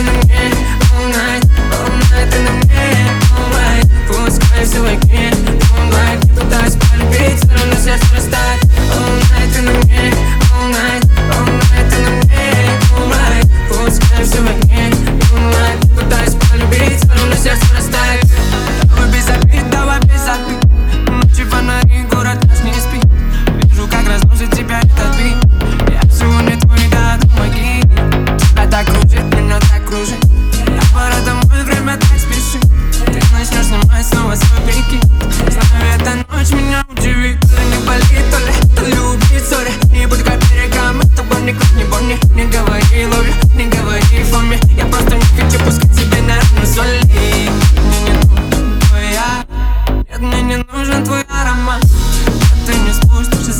ты на мне, all night ты на мне, all right. Пускай все в огне, moonlight. Я пытаюсь полюбить, все равно сердце растает. All night ты на мне, all night ты на мне, all right. Пускай все в огне, moonlight. Я пытаюсь полюбить, все равно сердце растает. Давай без обид, давай без обид. Ночи фонари, город наш не спит. Вижу, как разносит тебя этот бит. Я всего не твой, да, помоги. Тебя так кружит, меня так кружит. Я пора домой, время так спешит. Ты начнешь снимать снова свой прикид. Знаю, эта ночь меня удивит. То ли не болит, то ли убит, сори. Не будь как берегам, это больно, как не больно. Не говори лови, не говори фоме. Я просто не хочу пускать себе на руку соли. Мне не нужен твоя, нет, мне не нужен твой аромат. Ты не спустишься